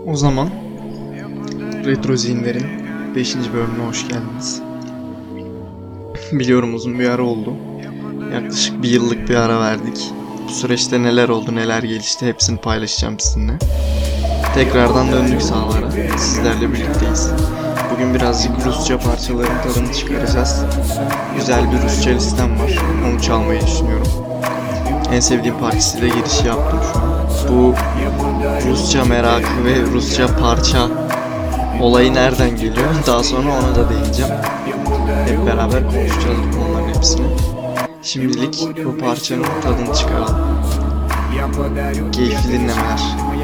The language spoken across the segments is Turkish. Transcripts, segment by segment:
O zaman Retro Zinler'in 5. bölümüne hoş geldiniz. Biliyorum uzun bir ara oldu. Yaklaşık bir yıllık bir ara verdik. Bu süreçte neler oldu, neler gelişti hepsini paylaşacağım sizinle. Tekrardan döndük sahalara. Sizlerle birlikteyiz. Bugün birazcık Rusça parçaların tadını çıkaracağız. Güzel bir Rusça listem var. Onu çalmayı düşünüyorum. En sevdiğim partisiyle girişi yaptım şu an. Bu Rusça merakı ve Rusça parça olayı nereden geliyor? Daha sonra ona da değineceğim. Hep beraber konuşacağız bu konuların hepsini. Şimdilik bu parçanın tadını çıkaralım. Keyifli dinlemeler.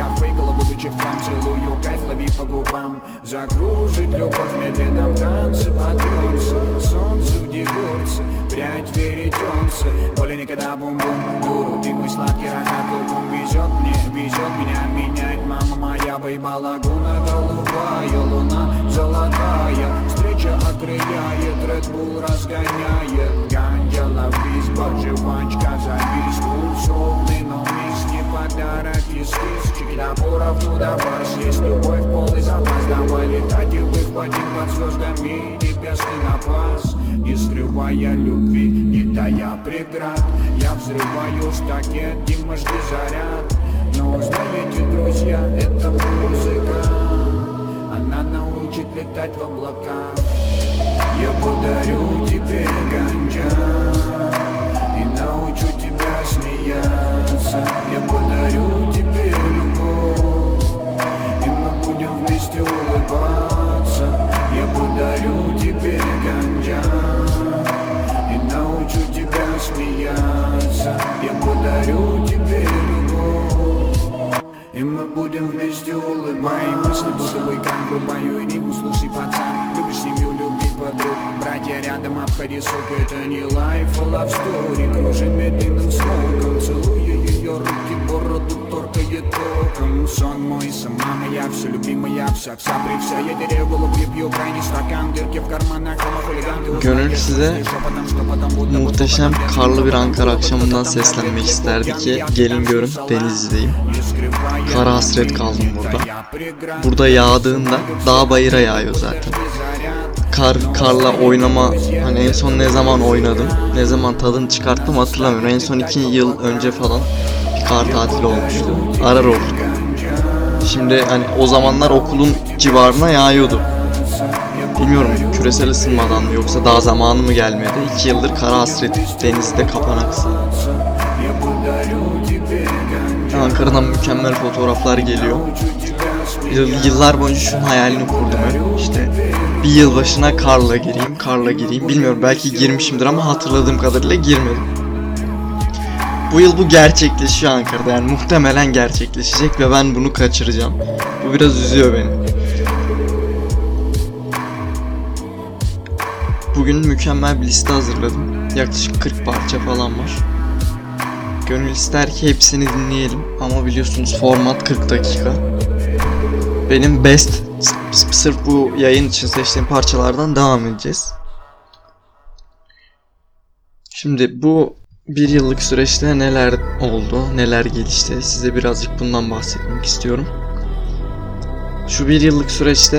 Прядь веретенца, более никогда бум-бум дуру. Ты мой сладкий рогат, луком везет меня менять. Мама моя поебала лагуна голубая, луна золотая. Встреча окрыляет, Red Bull разгоняет. Ганджела виз, жвачка за бис. Пульс ровный, но мисс не подарок эскиз. Чекида поровну до вас, есть любовь, полный запас. Давай летать и выхватим под звездами небесный напас. Не скрывая любви, не тая преград. Я взрываю штакет, Дима, жди заряд. Но знаете, друзья, это музыка. Она научит летать в облаках. Я подарю тебе ганджа и научу тебя смеяться. Я подарю тебе любовь, и мы будем вместе улыбаться. Я подарю тебе ганджа и научу тебя смеяться. Я подарю тебе любовь, и мы будем вместе улыбаться. Мои мысли будто вулкан, врубаю и не слушай, пацан. Любишь семью, любить подруг, братья рядом, обходи, сука. Это не лайф, а love story. Кружит медленным смоком, целую ее руки, бороду торкает током. Сон мой, сама моя, все любимая, вся при вся. Я теряю голову и пью крайний стакан, дырки в карманах, ama хулиган. Gönül size muhteşem karlı bir Ankara akşamından seslenmek isterdi ki gelin görün Denizli'deyim. Kara hasret kaldım burada. Burada yağdığında dağ bayıra yağıyor zaten. Karla oynama, hani en son ne zaman oynadım, ne zaman tadını çıkarttım hatırlamıyorum. En son 2 yıl önce falan bir kar tatili olmuştu. Arar olduk. Şimdi hani o zamanlar okulun civarına yağıyordu. Bilmiyorum küresel ısınmadan mı yoksa daha zamanı mı gelmedi. 2 yıldır kara hasret denizde kapanaksın. Ankara'dan mükemmel fotoğraflar geliyor. Yıllar boyunca şunun hayalini kurdum hep. İşte bir yıl başına karla gireyim. Bilmiyorum belki girmişimdir ama hatırladığım kadarıyla girmedim. Bu yıl bu gerçekleşiyor Ankara'da, yani muhtemelen gerçekleşecek ve ben bunu kaçıracağım. Bu biraz üzüyor beni. Bugün mükemmel bir liste hazırladım. Yaklaşık 40 parça falan var. Gönül ister ki hepsini dinleyelim ama biliyorsunuz format 40 dakika. Benim best sırf bu yayın için seçtiğim parçalardan devam edeceğiz. Şimdi bu bir yıllık süreçte neler oldu, neler gelişti, size birazcık bundan bahsetmek istiyorum. Şu bir yıllık süreçte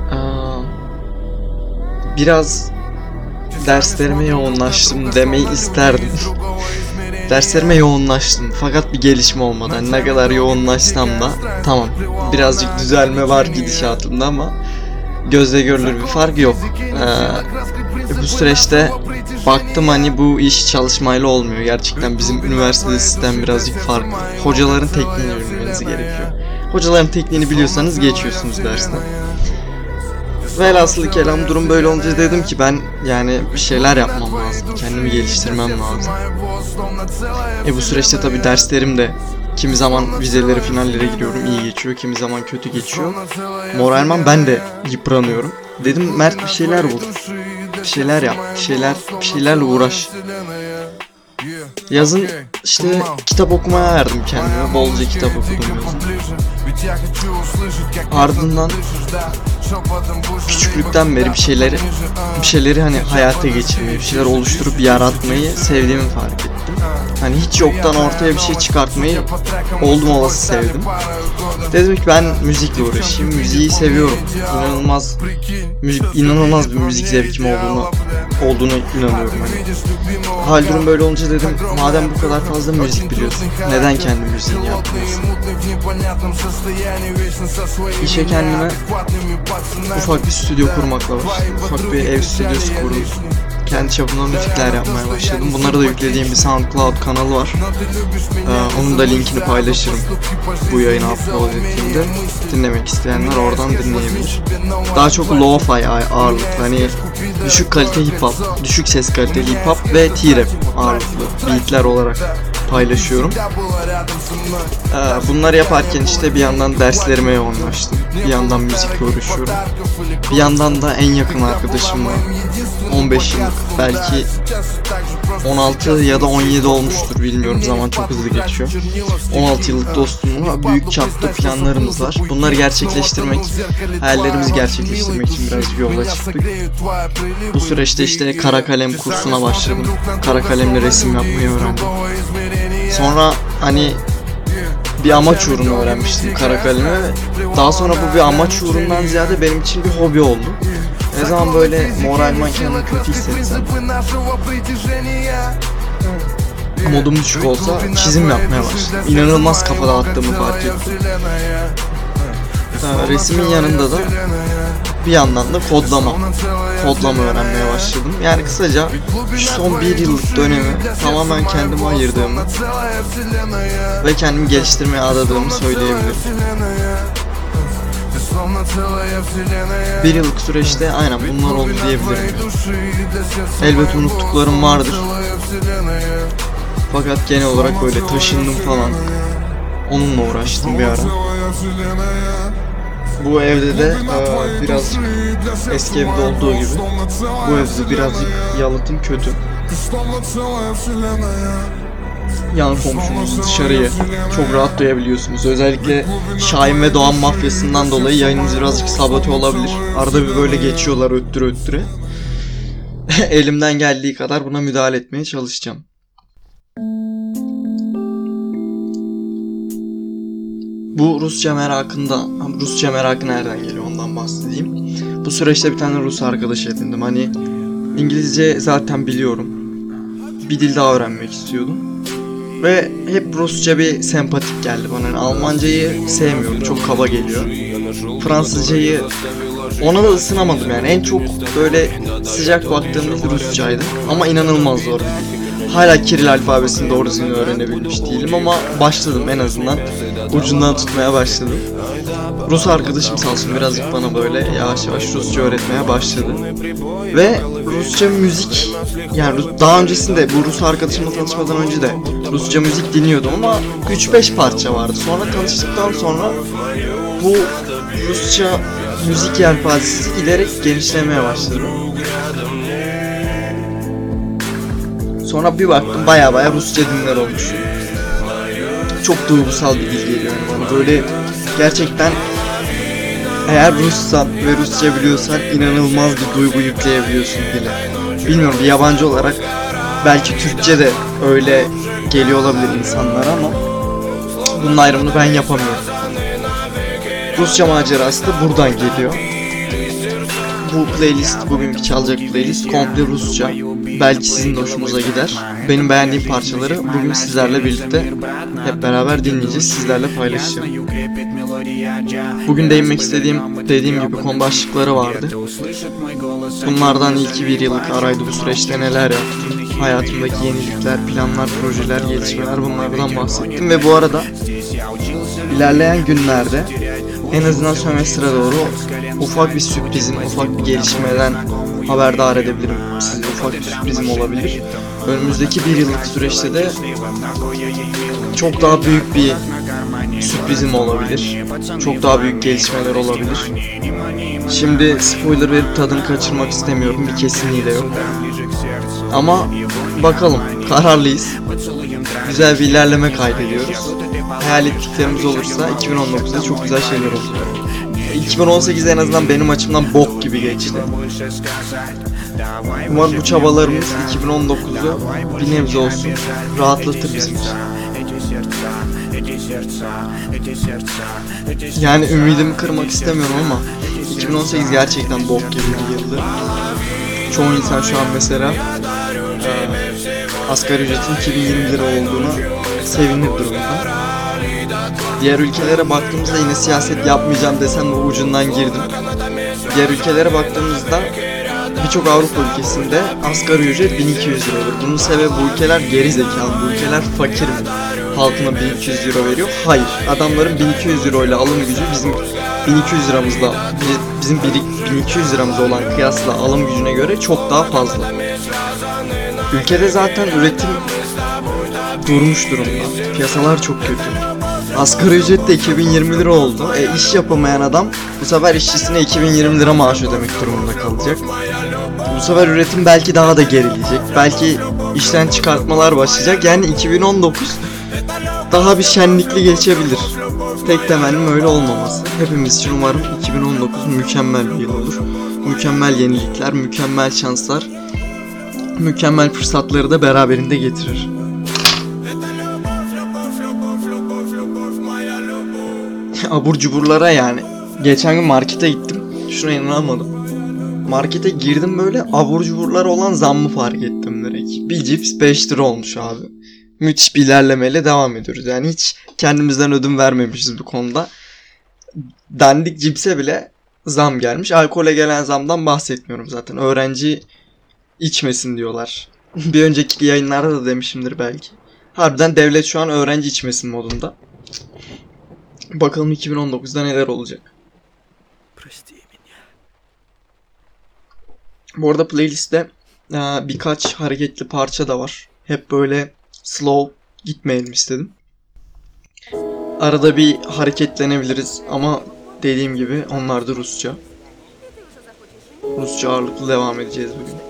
biraz derslerime yoğunlaştım demeyi isterdim. Derslerime yoğunlaştım fakat bir gelişme olmadı. Yani ne kadar yoğunlaşsam da tamam birazcık düzelme var gidişatımda ama gözle görülür bir fark yok. Bu süreçte baktım hani bu iş çalışmayla olmuyor. Gerçekten bizim üniversitede sistem birazcık farklı. Hocaların tekniğini bilmeniz gerekiyor. Hocaların tekniğini biliyorsanız geçiyorsunuz dersten. Velhasılı kelam durum böyle olunca dedim ki ben yani bir şeyler yapmam lazım. Kendimi geliştirmem lazım. Bu süreçte tabii derslerim de kimi zaman vizelere, finallere giriyorum, iyi geçiyor, kimi zaman kötü geçiyor. Moralman ben de yıpranıyorum. Dedim Mert bir şeyler bul. Bir şeyler yap, bir şeylerle uğraş. Yazın işte kitap okumaya verdim kendime, bolca kitap okudum yazın. Ardından küçüklükten beri bir şeyleri hani hayata geçirmeyi, bir şeyler oluşturup yaratmayı sevdiğimi fark ettim. Hani hiç yoktan ortaya bir şey çıkartmayı oldum olası sevdim. Dedim ki ben müzikle uğraşayım. Müziği seviyorum. İnanılmaz bir müzik zevkim olduğunu inanıyorum hani. Hal durum böyle olunca dedim madem bu kadar fazla müzik biliyorsun neden kendi müziğini yapmıyorsun? İşe kendime ufak bir stüdyo kurmakla başladım. Ufak bir ev stüdyosu kurdum. Kendi çapımda müzikler yapmaya başladım. Bunları da yüklediğim bir SoundCloud kanalı var. Onun da linkini paylaşırım bu yayını upload ettiğimde. Dinlemek isteyenler oradan dinleyebilir. Daha çok lo-fi ağırlıklı, hani düşük kalite hip hop, düşük ses kaliteli hip hop ve T-rap ağırlıklı beatler olarak paylaşıyorum. Bunları yaparken işte bir yandan derslerime yoğunlaştım. Bir yandan müzikle uğraşıyorum. Bir yandan da en yakın arkadaşımla 15 yıllık, belki 16 ya da 17 olmuştur bilmiyorum, zaman çok hızlı geçiyor. 16 yıllık dostumla büyük çapta planlarımız var. Bunları gerçekleştirmek, hayallerimizi gerçekleştirmek için birazcık yola çıktık. Bu süreçte işte kara kalem kursuna başladım. Kara kalemle resim yapmayı öğrendim. Sonra hani bir amaç uğruna öğrenmiştim kara kalemi. Daha sonra bu bir amaç uğrundan ziyade benim için bir hobi oldu. Ne zaman böyle moralman kendimi kötü hissetsem, modum düşük olsa çizim yapmaya başladım. İnanılmaz kafa dağıttığımı fark ettim. Resmin yanında da bir yandan da kodlama öğrenmeye başladım. Yani kısaca şu son bir yıllık dönemi tamamen kendime ayırdığımı ve kendimi geliştirmeye adadığımı söyleyebilirim. Bir yıllık süreçte aynen bunlar oldu diyebilirim. Elbet unuttuklarım vardır. Fakat genel olarak böyle taşındım falan. Onunla uğraştım bir ara. Bu evde de birazcık eski evde olduğu gibi bu evde birazcık yalıtım kötü. Yan komşumuz dışarıyı çok rahat duyabiliyorsunuz. Özellikle Şahin ve Doğan mafyasından dolayı yayınımız birazcık sabote olabilir. Arada bir böyle geçiyorlar öttüre. Elimden geldiği kadar buna müdahale etmeye çalışacağım. Bu Rusça merakı nereden geliyor ondan bahsedeyim. Bu süreçte bir tane Rus arkadaş edindim. Hani İngilizce zaten biliyorum. Bir dil daha öğrenmek istiyordum. Ve hep Rusça bir sempatik geldi bana. Yani Almancayı sevmiyorum, çok kaba geliyor. Fransızcayı ona da ısınamadım yani. En çok böyle sıcak baktığım dil Rusçaydı. Ama inanılmaz zor bir dil. Hala Kiril alfabesini doğru düzgün öğrenebilmiş değilim ama başladım, en azından ucundan tutmaya başladım. Rus arkadaşım sağ olsun birazcık bana böyle yavaş yavaş Rusça öğretmeye başladı. Ve Rusça müzik, yani daha öncesinde bu Rus arkadaşımla tanışmadan önce de Rusça müzik dinliyordum ama 3-5 parça vardı. Sonra tanıştıktan sonra bu Rusça müzik yelpazesi giderek genişlemeye başladı. Sonra bir baktım baya Rusça dinler olmuş. Çok duygusal bir dil geliyor yani bana. Böyle gerçekten eğer Russan ve Rusça biliyorsan inanılmaz bir duygu yükleyebiliyorsun dile. Bilmiyorum, bir yabancı olarak belki Türkçe de öyle geliyor olabilir insanlara ama bunun ayrımını ben yapamıyorum. Rusça macerası da buradan geliyor. Bu playlist, bugünkü çalacak playlist komple Rusça. Belki sizin de hoşunuza gider. Benim beğendiğim parçaları bugün sizlerle birlikte hep beraber dinleyeceğiz, sizlerle paylaşacağım. Bugün değinmek istediğim, dediğim gibi, konu başlıkları vardı. Bunlardan ilki bir yıllık araydı, bu süreçte neler yaptım, hayatımdaki yenilikler, planlar, projeler, gelişmeler, bunlardan bahsettim. Ve bu arada ilerleyen günlerde en azından sömestre doğru ufak bir sürprizim, ufak bir gelişmeden haberdar edebilirim. Size ufak bir sürprizim olabilir. Önümüzdeki bir yıllık süreçte de çok daha büyük bir sürprizim olabilir. Çok daha büyük gelişmeler olabilir. Şimdi spoiler verip tadını kaçırmak istemiyorum. Bir kesinliği de yok. Ama bakalım, kararlıyız. Güzel bir ilerleme kaydediyoruz. Hayal ettiklerimiz olursa 2019'da çok güzel şeyler olacak. 2018 en azından benim açımdan bok gibi geçti. Umarım bu çabalarımız 2019'u bir nebze olsun rahatlatır bizim için. Yani ümidimi kırmak istemiyorum ama 2018 gerçekten bok gibi bir yıldı. Çoğu insan şu an mesela asgari ücretin 2020 lira olduğuna sevinir durumda. Diğer ülkelere baktığımızda yine siyaset yapmayacağım desem de ucundan girdim. Diğer ülkelere baktığımızda birçok Avrupa ülkesinde asgari ücret 1200 lira olur. Bunun sebebi bu ülkeler geri zekalı, bu ülkeler fakir mi? Halkına 1200 euro veriyor. Hayır. Adamların 1200 euro ile alım gücü bizim 1200 liramızla bizim 1200 liramız olan kıyasla alım gücüne göre çok daha fazla. Ülkede zaten üretim durmuş durumda. Piyasalar çok kötü. Asgari ücret de 2020 lira oldu. İş yapamayan adam bu sefer işçisine 2020 lira maaş ödemek durumunda kalacak. Bu sefer üretim belki daha da gerileyecek. Belki işten çıkartmalar başlayacak. Yani 2019 daha bir şenlikli geçebilir. Tek temennim öyle olmaması. Hepimiz için umarım 2019 mükemmel bir yıl olur. Mükemmel yenilikler, mükemmel şanslar, mükemmel fırsatları da beraberinde getirir. Abur cuburlara yani. Geçen gün markete gittim. Şuna inanamadım. Markete girdim böyle abur cuburlara olan zammı fark ettim direkt. Bir cips 5 lira olmuş abi. Müthiş bir ilerlemeyle devam ediyoruz. Yani hiç kendimizden ödün vermemişiz bu konuda. Dandik cipse bile zam gelmiş. Alkole gelen zamdan bahsetmiyorum zaten. Öğrenci içmesin diyorlar. Bir önceki yayınlarda da demişimdir belki. Harbiden devlet şu an öğrenci içmesin modunda. Bakalım 2019'da neler olacak. Bu arada playlistte birkaç hareketli parça da var. Hep böyle slow gitmeyelim istedim. Arada bir hareketlenebiliriz ama dediğim gibi onlar da Rusça. Rusça ağırlıklı devam edeceğiz bugün.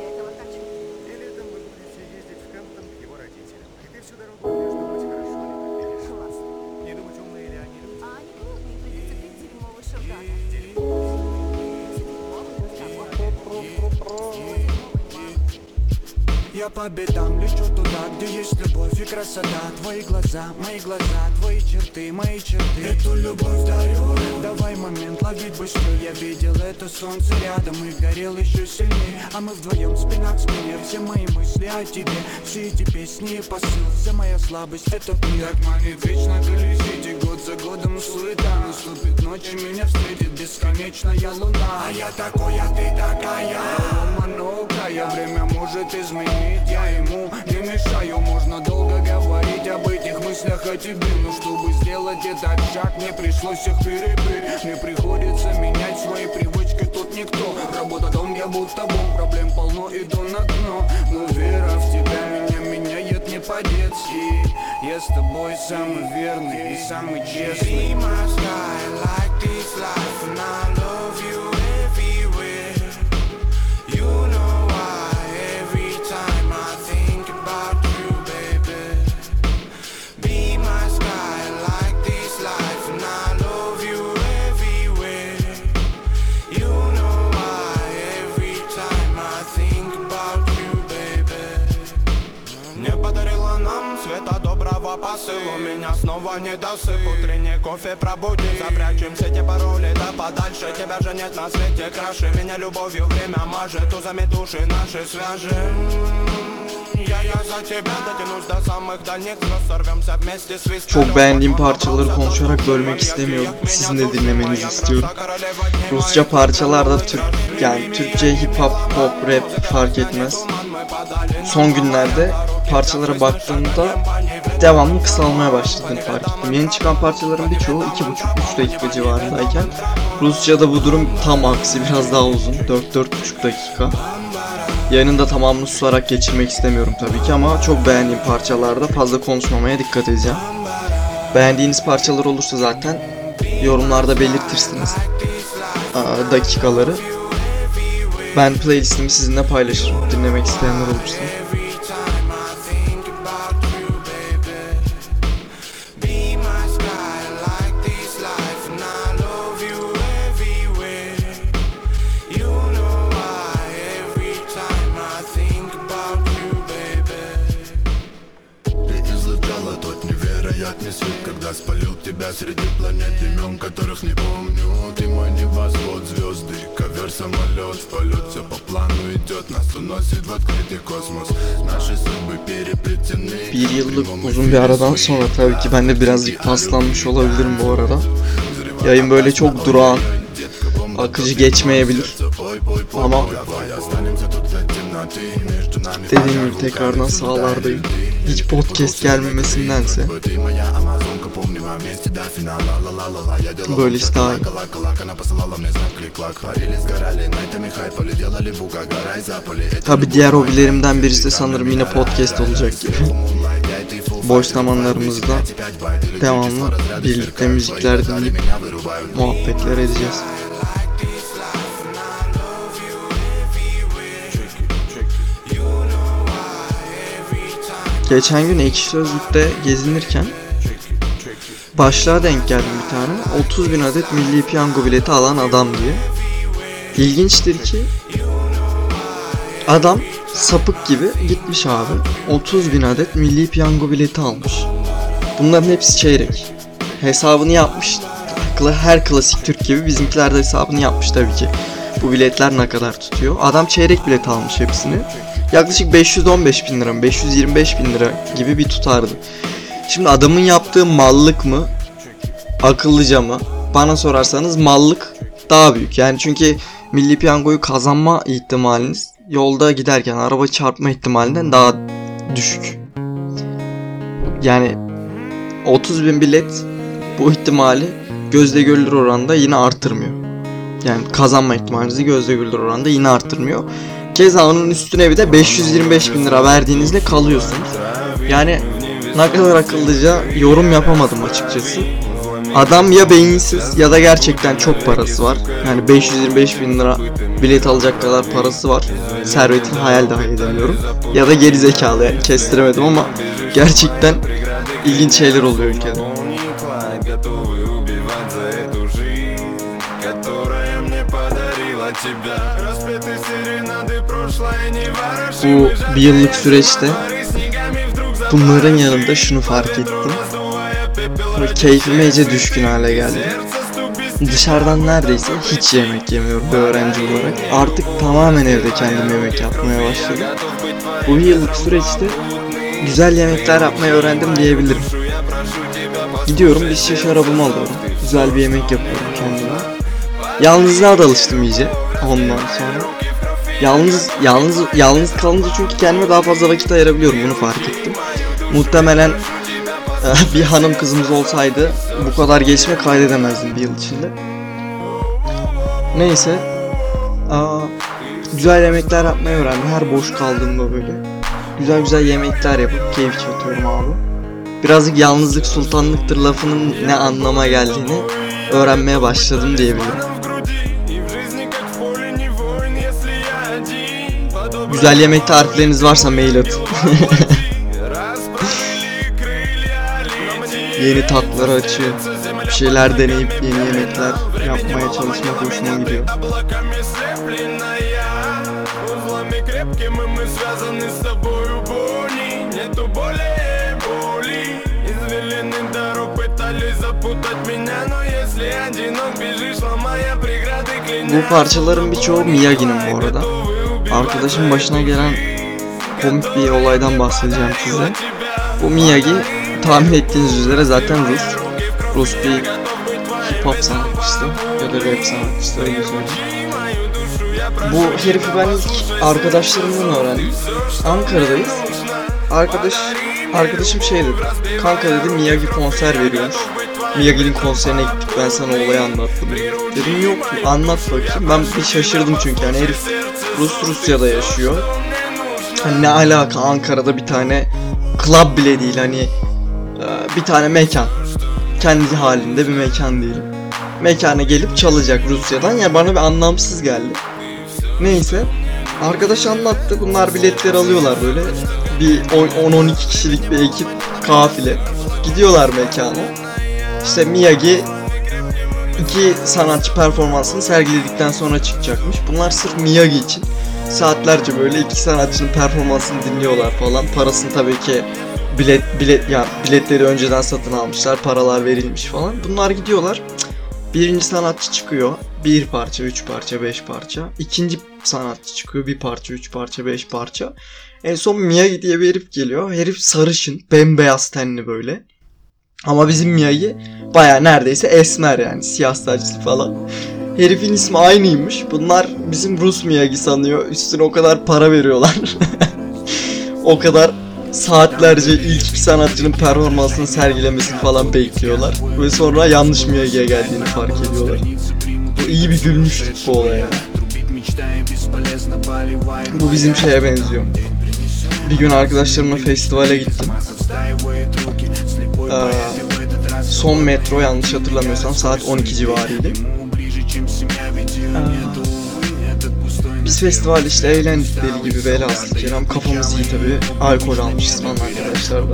Я по бедам лечу туда, где есть любовь и красота. Твои глаза, твои черты, мои черты. Эту любовь дарю. Давай момент ловить быстрее. Я видел это солнце рядом и горел еще сильнее. А мы вдвоем спина к спине. Все мои мысли о тебе, все эти песни и посыл. Вся моя слабость это мир. Так манит вечно колесите, год за годом суета. Наступит ночь и меня встретит бесконечная луна. А я такой, а ты такая. Много время может изменить. Я ему не мешаю, можно долго говорить об этих мыслях о тебе. Но чтобы сделать этот шаг, мне пришлось их перебить. Мне приходится менять свои привычки, тут никто. Работа дом, я будто бомб, проблем полно, иду на дно. Но вера в тебя меня меняет не по-детски. Я с тобой самый верный и самый честный. Be my sky, like this life, and I love you everywhere. You know посыл, у меня снова недосып. Утренний кофе пробудит, запрячем все те пароли, да подальше. Тебя же нет на свете краше. Меня любовью время мажет, узами души наши свяжем. Я за тебя дотянусь до самых дальних звезд, сорвемся вместе с виспером. Çok beğendiğim parçaları konuşarak bölmek istemiyorum. Sizin de dinlemenizi istiyorum. Rusça parçalarda yani Türkçe hip hop, pop, rap fark etmez. Son günlerde parçalara baktığımda devamlı kısalmaya başladığını fark ettim. Yeni çıkan parçaların birçoğu 2,5-3 dakika civarındayken Rusça'da bu durum tam aksi, biraz daha uzun, 4-4,5 dakika. Yayının da tamamını susarak geçirmek istemiyorum tabii ki ama çok beğendiğim parçalarda fazla konuşmamaya dikkat edeceğim. Beğendiğiniz parçalar olursa zaten yorumlarda belirtirsiniz dakikaları. Ben playlistimi sizinle paylaşırım, dinlemek isteyenler olursa. Я спалил тебя среди планет, имен которых не помню. Ты мой небосвод, звезды, ковер, самолет. В полет все по плану идет, нас уносит в открытый космос. Наши судьбы переплетены. Bir yıllık uzun bir aradan sonra tabii ki ben de birazcık paslanmış olabilirim bu arada. Yayın böyle çok durağan, akıcı geçmeyebilir. Ama dediğim gibi tekrardan sahalardayım. Hiç podcast gelmemesindense böyle işte daha iyi. Tabi diğer hobilerimden birisi de sanırım yine podcast olacak gibi. Boş zamanlarımızda devamlı birlikte müzikler dinleyip muhabbetler edeceğiz. Geçen gün Ekşi Sözlük'te gezinirken başlığa denk geldim bir tane. 30.000 adet milli piyango bileti alan adam diye. İlginçtir ki adam sapık gibi gitmiş abi. 30.000 adet milli piyango bileti almış. Bunların hepsi çeyrek. Hesabını yapmış. Her klasik Türk gibi bizimkiler de hesabını yapmış tabii ki. Bu biletler ne kadar tutuyor? Adam çeyrek bilet almış hepsini. Yaklaşık 515 bin lira mı, 525 bin lira gibi bir tutardı. Şimdi adamın yaptığı mallık mı, akıllıca mı? Bana sorarsanız mallık daha büyük. Yani çünkü milli piyangoyu kazanma ihtimaliniz yolda giderken araba çarpma ihtimalinden daha düşük. Yani 30.000 bilet bu ihtimali gözle görülür oranda yine artırmıyor. Yani kazanma ihtimalinizi gözle görülür oranda yine artırmıyor. Keza onun üstüne bir de 525 bin lira verdiğinizde kalıyorsunuz. Yani ne kadar akıllıca yorum yapamadım açıkçası. Adam ya beyinsiz ya da gerçekten çok parası var. Yani 525 bin lira bilet alacak kadar parası var. Servetini hayal dahi edemiyorum. Ya da geri zekalı, yani kestiremedim ama gerçekten ilginç şeyler oluyor ülkede. Bu bir yıllık süreçte bunların yanında şunu fark ettim. Böyle keyfime iyice düşkün hale geldim. Dışarıdan neredeyse hiç yemek yemiyorum bir öğrenci olarak. Artık tamamen evde kendim yemek yapmaya başladım. Bu bir yıllık süreçte güzel yemekler yapmayı öğrendim diyebilirim. Gidiyorum bir şişe şarabımı alıyorum. Güzel bir yemek yapıyorum kendime. Yalnızlığa da alıştım iyice ondan sonra. Yalnız kalınca çünkü kendime daha fazla vakit ayırabiliyorum, bunu fark ettim. Muhtemelen bir hanım kızımız olsaydı bu kadar gelişme kaydedemezdim bir yıl içinde. Neyse. Güzel yemekler yapmayı öğrendim. Her boş kaldığımda böyle güzel yemekler yapıp keyif çatıyorum abi. Birazcık yalnızlık sultanlıktır lafının ne anlama geldiğini öğrenmeye başladım diyebilirim. Güzel yemek tarifleriniz varsa mail atın. Yeni tatlar açıyor. Bir şeyler deneyip yeni yemekler yapmaya çalışmak hoşuma gidiyor. Bu parçaların birçoğu Miyagi'nin bu arada. Arkadaşım başına gelen komik bir olaydan bahsedeceğim size. Bu Miyagi tahmin ettiğiniz üzere zaten Rus bir hip hop sanatçısı ya da rap sanatçısı, öyle söyleyeyim. Bu herifi ben ilk arkadaşlarımdan öğrendim. Ankara'dayız. Arkadaşım şey dedi. Kanka dedi, Miyagi konser veriyormuş. Miyagi'nin konserine gittik, ben sana olayı anlattım. Dedim yok, anlat bakayım. Ben bir şaşırdım çünkü yani herif Rusya'da yaşıyor. Hani ne alaka, Ankara'da bir tane club bile değil, hani bir tane mekan. Kendi halinde bir mekan diyelim. Mekana gelip çalacak Rusya'dan, ya bana bir anlamsız geldi. Neyse. Arkadaş anlattı, bunlar biletleri alıyorlar böyle. Bir 10-12 kişilik bir ekip, kafile. Gidiyorlar mekana. İşte Miyagi iki sanatçı performansını sergiledikten sonra çıkacakmış. Bunlar sırf Miyagi için saatlerce böyle iki sanatçının performansını dinliyorlar falan. Parasını tabii ki biletleri önceden satın almışlar, paralar verilmiş falan. Bunlar gidiyorlar. Birinci sanatçı çıkıyor. 1 parça, 3 parça, 5 parça. İkinci sanatçı çıkıyor. 1 parça, 3 parça, 5 parça. En son Miyagi diye bir herif geliyor. Herif sarışın, bembeyaz tenli böyle. Ama bizim Miyagi baya neredeyse esmer yani. Siyah saçlı falan. Herifin ismi aynıymış. Bunlar bizim Rus Miyagi sanıyor. Üstüne o kadar para veriyorlar. O kadar saatlerce ilk bir sanatçının performansını sergilemesini falan bekliyorlar. Ve sonra yanlış Miyagi'ye geldiğini fark ediyorlar. İyi bir gülmüştük bu olaya. Bu bizim şeye benziyor. Bir gün arkadaşlarımla festivale gittim. Son metro, yanlış hatırlamıyorsam saat 12 civarıydı. Biz festival işte eğlendik deli gibi, velhasıl kelam kafamız iyi tabi, alkol almışız falan arkadaşlar da.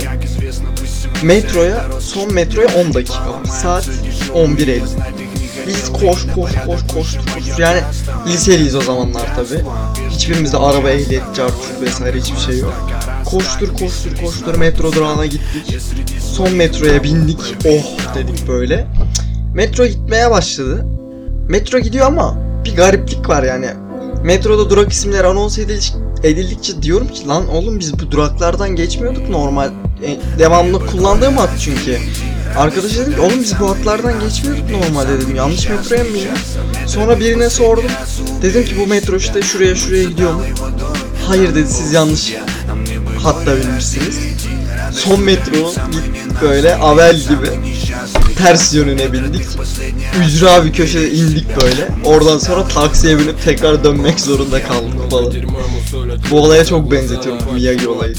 Son metroya 10 dakika var, saat 11.50. Biz koş yani liseliyiz o zamanlar tabi. Hiçbirimizde araba, ehliyet, cartçuk vesaire hiçbir şey yok. Koştur metro durağına gittik. Son metroya bindik, oh dedik böyle. Metro gitmeye başladı. Metro gidiyor ama bir gariplik var yani. Metroda durak isimleri anons edildikçe diyorum ki lan oğlum biz bu duraklardan geçmiyorduk normal. Devamlı kullandığım hat çünkü. Arkadaşa dedim ki oğlum biz bu hatlardan geçmiyorduk normalde dedim. Yanlış metroya mı bindim? Sonra birine sordum. Dedim ki bu metro işte şuraya gidiyor mu? Hayır dedi, siz yanlış hatta binmişsiniz. Son metro gittik böyle avel gibi. Ters yönüne bindik. Ücra bir köşede indik böyle. Oradan sonra taksiye binip tekrar dönmek zorunda kaldık falan. Bu olaya çok benzetiyorum bu Miyagi olayı.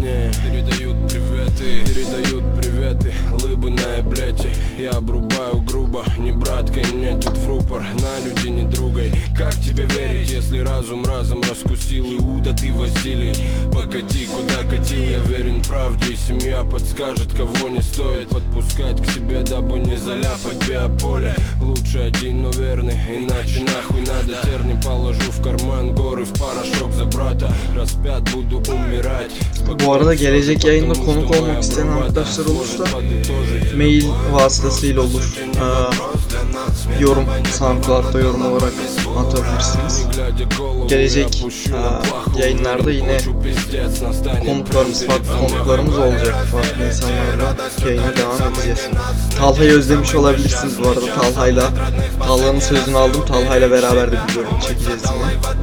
Я обрубаю грубо, не браткой, мне тут в рупор, на люди не другой. Как тебе верить, если разум разом раскусил? Иуда, ты Василий, покати, куда катил? Я верен правде, и семья подскажет, кого не стоит подпускать к себе, дабы не заляпать биополе. Лучше один, но верный, иначе нахуй надо. Терни положу в карман, горы в порошок за брата. Распят буду умирать. Bu arada gelecek yayında konuk olmak isteyen arkadaşlar olursa mail vasıtasıyla olur. Yorum, SoundCloud'da yorum olarak atabilirsiniz. Gelecek yayınlarda yine farklı konuklarımız olacak. Farklı insanlarla yayına devam edeceğiz. Talha'yı özlemiş olabilirsiniz bu arada. Talha'nın sözünü aldım. Talha'yla beraber de bir bölüm çekeceğiz yine.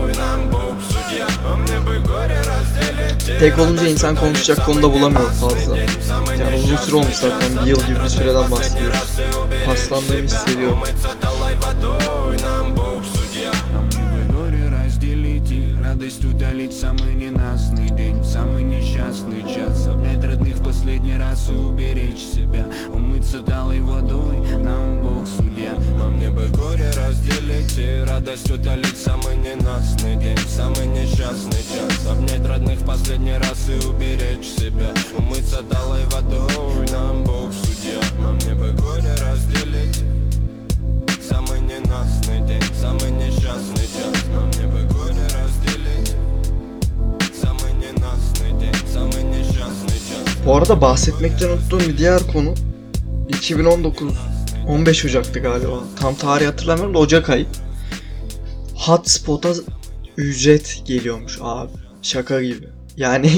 Tek olunca insan konuşacak konuda bulamıyor fazla. Yani uzun süre olmuş zaten, bir yıl gibi bir süreden bahsediyoruz. Paslandığımı hissediyorum. Радость удалить самый ненастный день, самый несчастный час. Обнять родных в последний раз и уберечь себя. Умыться талой водой, нам Бог судья. Нам мне бы горе разделить и радость удалить самый ненастный день, самый несчастный час. Обнять родных в последний раз и уберечь себя. Умыться талой водой, нам Бог судья. Нам мне бы горе разделить самый ненастный день, самый несчастный час. Нам мне бы горе разделить самый ненастный день, самый несчастный час. Bu arada bahsetmekten unuttuğum bir diğer konu 15 Ocak'tı galiba. Tam tarihi hatırlamıyorum da Ocak ayı. Hotspot'a ücret geliyormuş abi. Şaka gibi. Yani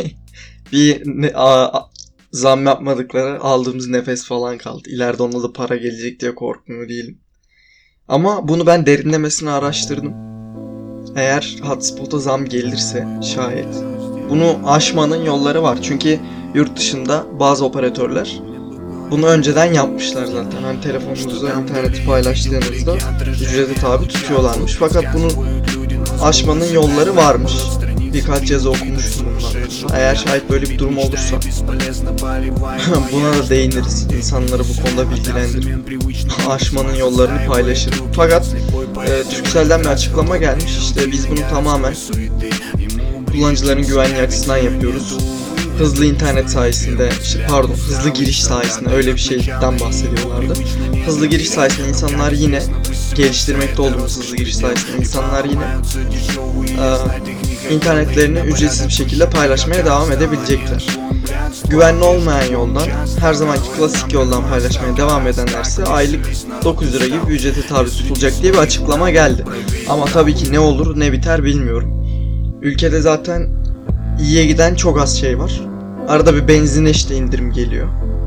zam yapmadıkları aldığımız nefes falan kaldı. İleride ona da para gelecek diye korkmuyor değilim. Ama bunu ben derinlemesine araştırdım. Eğer hotspot'a zam gelirse şayet bunu aşmanın yolları var. Çünkü yurt dışında bazı operatörler bunu önceden yapmışlar zaten. Hani telefonunuzda interneti paylaştığınızda ücrete tabi tutuyorlarmış. Fakat bunu aşmanın yolları varmış. Birkaç yazı okumuştum bunlar. Eğer şayet böyle bir durum olursa buna da değiniriz. İnsanları bu konuda bilgilendirip aşmanın yollarını paylaşırım. Fakat Turkcell'den bir açıklama gelmiş. İşte biz bunu tamamen kullanıcıların güvenliği açısından yapıyoruz. Hızlı internet sayesinde, hızlı giriş sayesinde, öyle bir şeyden bahsediyorlardı. Hızlı giriş sayesinde insanlar yine geliştirmekte olduğumuz hızlı giriş sayesinde insanlar yine internetlerini ücretsiz bir şekilde paylaşmaya devam edebilecekler. güvenli olmayan yoldan, her zamanki klasik yoldan paylaşmaya devam edenlerse aylık 9 lira gibi bir ücrete tabi tutulacak diye bir açıklama geldi. Ama tabii ki ne olur ne biter bilmiyorum. Ülkede zaten iyiye giden çok az şey var. Arada bir benzine işte indirim geliyor.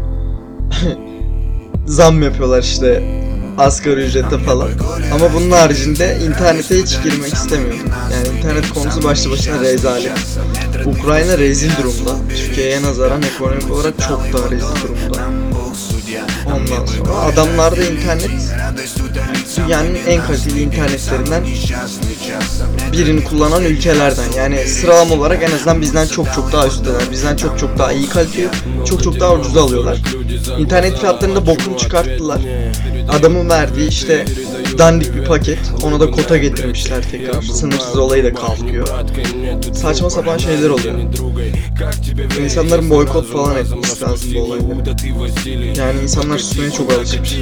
Zam yapıyorlar işte asgari ücrete falan. Ama bunun haricinde internete hiç girmek istemiyorum. Yani internet konusu başlı başına rezalet. Ukrayna rezil durumda. Türkiye'ye nazaran ekonomik olarak çok daha rezil durumda. Ondan sonra adamlarda internet dünyanın en kaliteli internetlerinden birini kullanan ülkelerden. Yani sıralama olarak en azından bizden çok daha üstteler. Bizden çok daha iyi kalite, çok daha ucuza alıyorlar. İnternet fiyatlarında bokunu çıkarttılar. Adamın verdiği işte dandik bir paket, ona da kota getirmişler tekrar. Sınırsız olayı da kalkıyor. Saçma sapan şeyler oluyor. İnsanların boykot falan etmesi lazım bu olayları. Yani insanlar susmaya çok alışmış.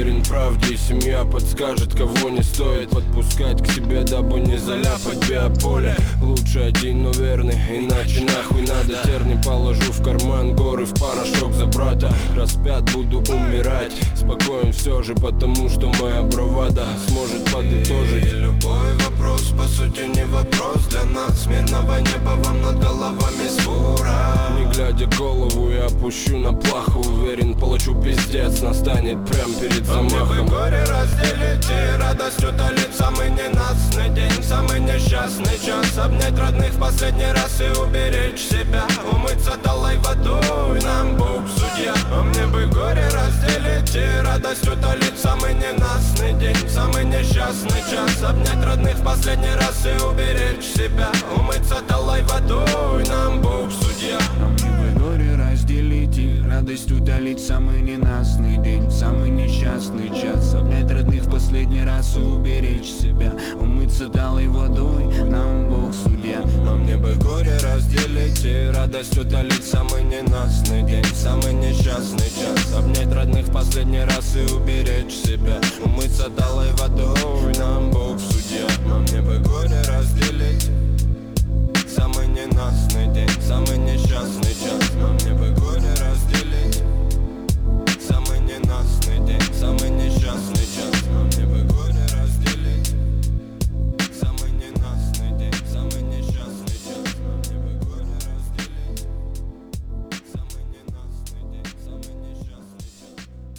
Лучше один, но верный, иначе нахуй надо. Терни положу в карман, горы в порошок за брата. Распят, буду умирать, спокоен все же, потому что моя бравада сможет подытожить. Любой вопрос, по сути, не вопрос для нас. Мирного неба вам над головами свора. Не глядя голову, я опущу на плаху. Уверен, получу пиздец, настанет прям перед замахом. Горе разделить и радостью долить. Самый ненастный день, самый несчастный час. Обнять родных в последний раз и уберечь себя. Умыться талой водой, нам Бог судья. А мне бы горе разделить и радостью долить. Самый ненастный день, самый несчастный час. Обнять родных в последний раз и уберечь себя. Умыться талой водой, нам Бог судья. А мне бы горе разделить и радость удалить. Самый ненастный день, самый несчастный час. Обнять родных в последний раз и уберечь себя. Умыться талой водой, нам Бог судья. А мне бы горе разделить и радость удалить. Самый ненастный день, самый несчастный час. Обнять родных в последний раз и уберечь себя. Умыться талой водой, нам Бог судья. А мне бы горе разделить. Самый ненастный день, самый несчастный час. А мне бы горе разделить. Самый ненастный день, самый несчастный час. А мне бы горе разделить. Самый ненастный день, самый несчастный час. А мне бы горе разделить. Самый ненастный день, самый несчастный час.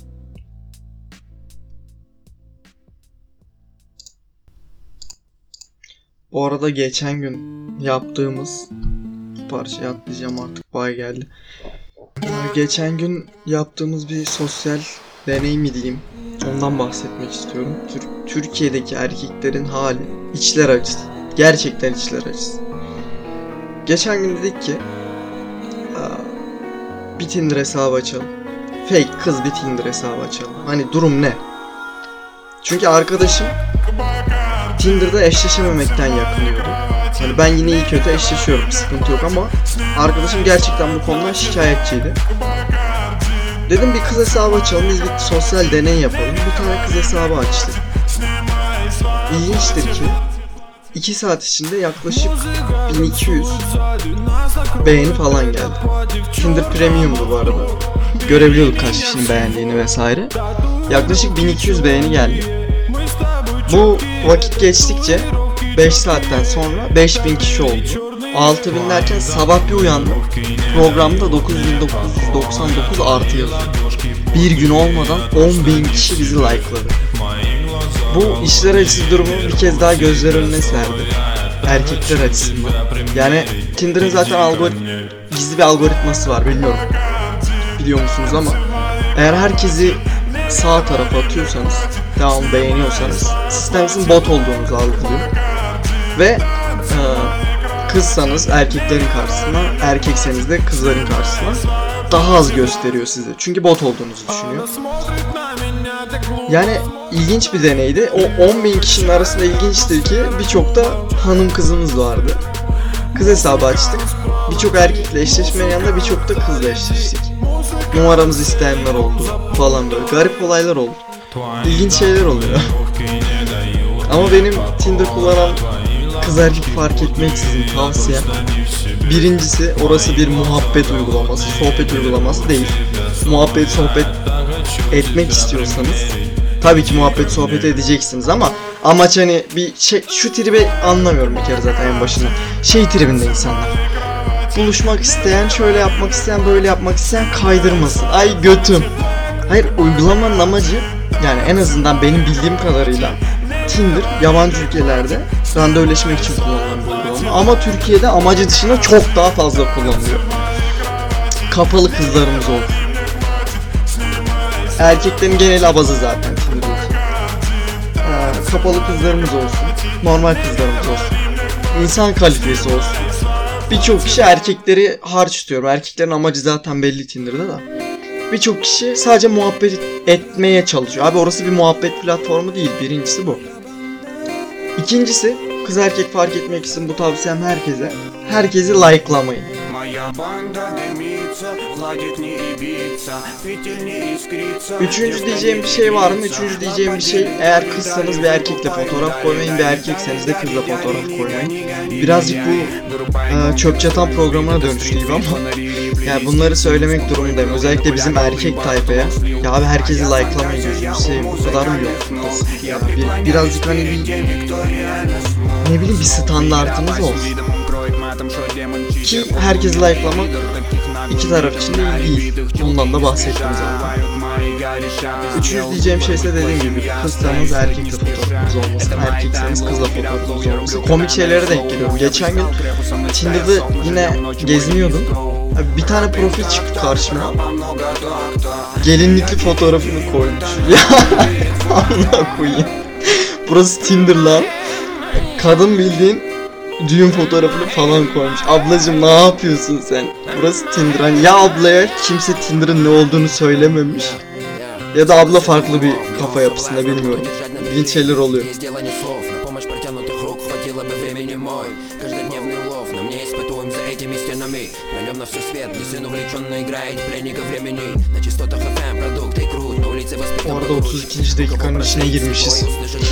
Bu arada geçen gün yaptığımız parçayı atlayacağım artık, bay geldi. Geçen gün yaptığımız bir sosyal deney mi diyeyim, ondan bahsetmek istiyorum. Türkiye'deki erkeklerin hali içler acısı. Gerçekten içler acısı. Geçen gün dedik ki bir Tinder hesabı açalım. Fake kız bir Tinder hesabı açalım. Hani durum ne? Çünkü arkadaşım Tinder'da eşleşememekten yakınıyordu. Hani ben yine iyi kötü eşleşiyorum, sıkıntı yok ama arkadaşım gerçekten bu konudan şikayetçiydi. Dedim bir kız hesabı açalım, biz bir sosyal deney yapalım. Bir tane kız hesabı açtık. İlginçtir ki 2 saat içinde yaklaşık 1200 beğeni falan geldi. Tinder Premium'du bu arada. Görebiliyorduk kaç kişinin beğendiğini vesaire. Yaklaşık 1200 beğeni geldi. Bu vakit geçtikçe 5 saatten sonra 5000 kişi oldu. 6000 derken sabah bir uyandım. Programda 9999 artı yazıyor. Bir gün olmadan 10.000 kişi bizi like'ladı. Bu işler acısı durumu bir kez daha gözler önüne serdi. Erkekler açısından. Yani Tinder'ın zaten gizli bir algoritması var, bilmiyorum. Biliyor musunuz ama eğer herkesi sağ tarafa atıyorsanız, devamlı beğeniyorsanız sistem sizin bot olduğunuzu algılıyor. Ve kızsanız erkeklerin karşısına, erkekseniz de kızların karşısına daha az gösteriyor size. Çünkü bot olduğunuzu düşünüyor. Yani ilginç bir deneydi. O 10.000 kişinin arasında ilginçtir ki birçok da hanım kızımız vardı. Kız hesabı açtık. Birçok erkekle eşleşmeyen yanında birçok da kızla eşleştik. Numaramızı isteyenler oldu falan böyle. Garip olaylar oldu. İlginç şeyler oluyor. Ama benim Tinder kullanan kız erkek fark etmeksizin tavsiyem. Birincisi, orası bir muhabbet uygulaması, sohbet uygulaması değil. Muhabbet sohbet etmek istiyorsanız tabii ki muhabbet sohbet edeceksiniz ama amaç hani bir şey, şu tribi anlamıyorum bir kere zaten en başında. Şey tribinde insanlar. Buluşmak isteyen, şöyle yapmak isteyen, böyle yapmak isteyen kaydırmasın. Ay götüm. Hayır, uygulamanın amacı, yani en azından benim bildiğim kadarıyla Tinder yabancı ülkelerde randevuleşmek için kullanılan bir uygulama. Ama Türkiye'de amacı dışında çok daha fazla kullanılıyor. Kapalı kızlarımız olsun. Erkeklerin genel abazı zaten Tinder'daki. Kapalı kızlarımız olsun. Normal kızlarımız olsun. İnsan kalitesi olsun. Birçok kişi erkekleri harç tutuyor. Erkeklerin amacı zaten belli Tinder'da da. Birçok kişi sadece muhabbet etmeye çalışıyor. Abi orası bir muhabbet platformu değil. Birincisi bu. İkincisi, kız erkek fark etmek için bu tavsiyem herkese. Herkesi like'lamayın. Üçüncü diyeceğim bir şey var mı? Üçüncü diyeceğim bir şey, eğer kızsanız bir erkekle fotoğraf koymayın, bir erkekseniz de kızla fotoğraf koymayın. Birazcık bu çöp çatan programına dönüştü gibi ama yani bunları söylemek durumundayım. Özellikle bizim erkek tayfaya. Ya abi herkesi like'lamayın, gözünü seveyim. Bu kadar mı yok? Ya birazcık hani bir, ne bileyim, bir standartınız olsun. Ki herkesi like'lamak iki taraf için de iyi değil. Bundan da bahsettim zaten. Üçüncü diyeceğim şey ise dediğim gibi, kızsanız erkekle fotoğrafınız olmasın, erkekseniz kızla fotoğrafınız olmasın. Komik şeylere denk geliyorum. Geçen gün Tinder'da yine geziniyordum. Bir tane profil çıktı karşıma. Gelinlikli fotoğrafını koymuş. Ya Allah koyayım. Burası Tinder lan. Kadın bildiğin düğün fotoğrafını falan koymuş. Ablacım ne yapıyorsun sen? Burası Tinder. Hani ya ablaya kimse Tinder'ın ne olduğunu söylememiş. Ya da abla farklı bir kafa yapısında, bilmiyorum. İlginç şeyler oluyor. Orada 32. dakikanın içine girmişiz.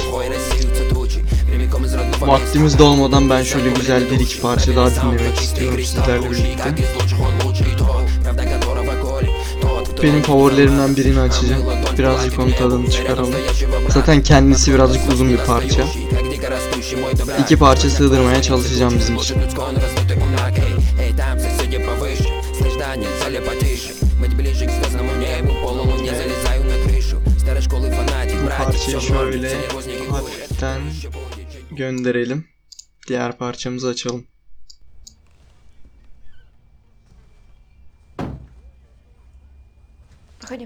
Vaktimiz de olmadan ben şöyle güzel bir iki parça daha dinlemek istiyorum sizlerle birlikte. Benim favorilerimden birini açacağım. Birazcık onun tadını çıkaralım. Zaten kendisi birazcık uzun bir parça. İki parça sığdırmaya çalışacağım bizim için. Bu parçayı şöyle hafiften gönderelim. Diğer parçamızı açalım. Проходи.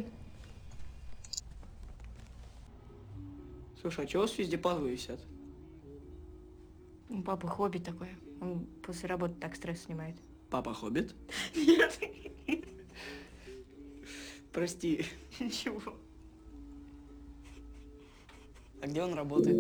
Слушай, а чего у вас везде пазлы висят? У папы хобби такое. Он после работы так стресс снимает. Папа хоббит? Нет. Прости. Ничего. А где он работает?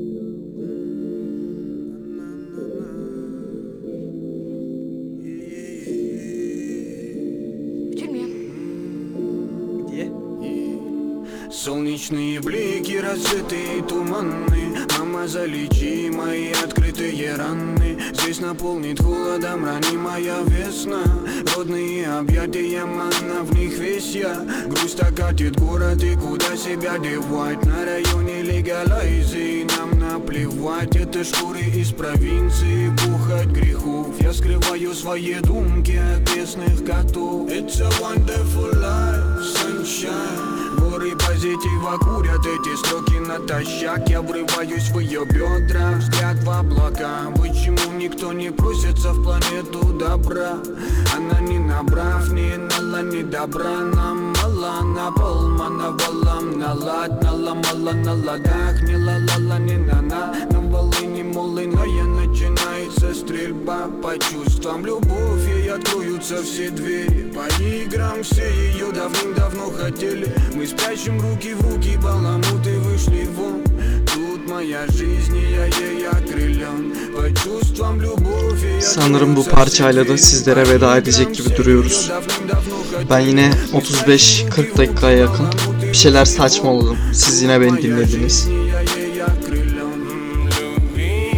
В тюрьме. Где? Солнечные блики, разжитые туманы. Мама, залечи мои открытые раны. Здесь наполнит холодом ранимая весна. Родные объятия, манна, в них весь я. Грусть окатит город, и куда себя девать? На районе легалайзии нам наплевать. Это шкуры из провинции, пухать грехов. Я скрываю свои думки от местных котов. It's a wonderful life, sunshine. Горы позитива курят эти строки натощак. Я врываюсь в ее бедра, взгляд в облака. Почему никто не просится в планету добра? Она не набрав, не нала, не добра. Нам мало, на пол, мановалам, налад, наломала на ладах. Не ла-ла-ла, не на-на, на волыни молыная начинается стрельба. По чувствам любовь, ей откроются все двери. По играм все ее давным-давно хотели. Мы спрячем руки в руки, баламуты вышли вон. Тут моя жизнь, и я ей окрылен. По чувствам любовь, ей Sanırım bu parçayla da sizlere veda edecek gibi duruyoruz. Ben yine 35-40 dakikaya yakın bir şeyler saçmaladım. Siz yine beni dinlediniz.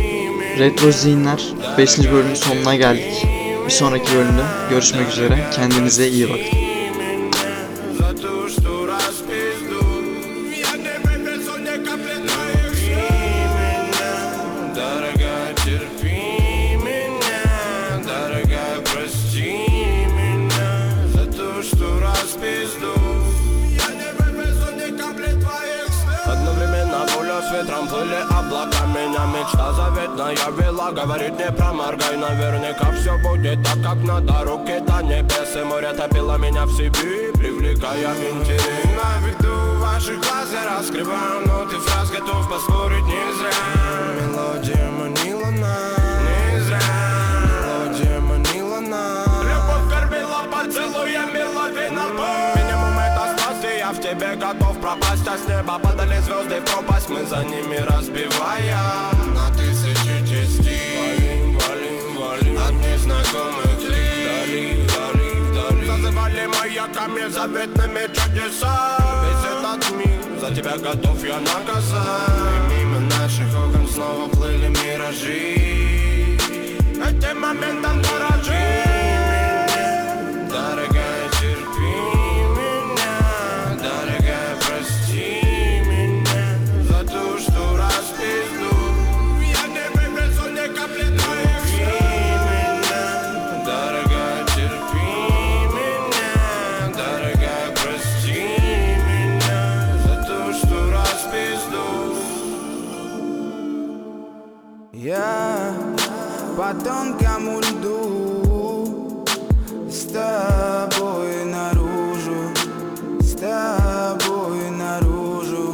Retro Zihinler 5. bölümün sonuna geldik. Bir sonraki bölümde görüşmek üzere. Kendinize iyi bakın. За то, что распизду. Я не вывезу ни капли твоих слез. Дорогая, терпи меня. Дорогая, прости меня. За то, что распизду. Я не вывезу ни капли твоих слез. Одновременно пуля с ветром плыли облака. Меня мечта заветная вела. Говорит, не проморгай. Наверняка все будет так, как надо. Руки-то небес и море топило меня в себе, привлекая интерес. На виду ваших глаз я раскрываю ноты фраз, готов поспорить не зря. Мелодия манила нас, не зря. Мелодия манила нас. Любовь кормила поцелуями лавина. Минимум это страсть, и я в тебе готов пропасть. А с неба падали звезды в пропасть, мы за ними разбивая на тысячи частей. Валим, валим, валим от незнакомых лиц. Вдали, вдали, вдали зазывали маяками заветными чудеса. Весь этот мир за тебя готов я наказать. И мимо наших окон снова плыли миражи. Этим моментом дорожи. Дорогая, терпи меня. Дорогая, прости меня. За то, что распизду. Я не вывезу ни капли твоих слез. Дорогая, терпи меня. Дорогая, прости меня. За то, что распизду. Я по тонкому льду с тобой наружу, с тобой наружу.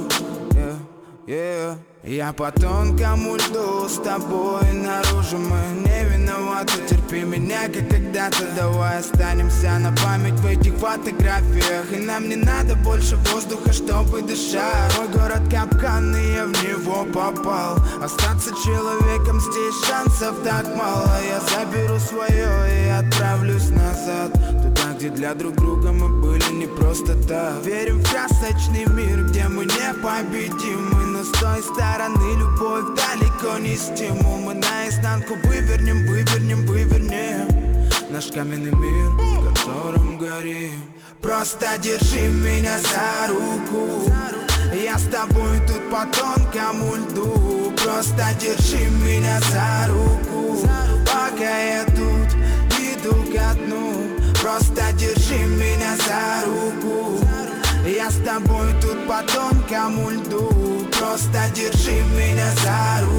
Я по тонкому льду с тобой наружу. Мы не виноваты, терпи меня, как когда-то. Давай останемся на память в этих фотографиях. И нам не надо больше воздуха, чтобы дышать. Мой город капкан, и я в него попал. Остаться человеком здесь шансов так мало. Я заберу свое и отправлюсь назад, туда, где для друг друга мы были не просто так. Верим в красочный мир, где мы непобедимы. Но с той стороны любовь далеко не стимул. Мы наизнанку вывернем, вывернем, вывернем наш каменный мир, в котором горим. Просто держи меня за руку. Я с тобой тут по тонкому льду. Просто держи меня за руку, пока я тут иду ко дну. Просто держи меня за руку. Я с тобой тут по тонкому льду. Просто держи меня за руку.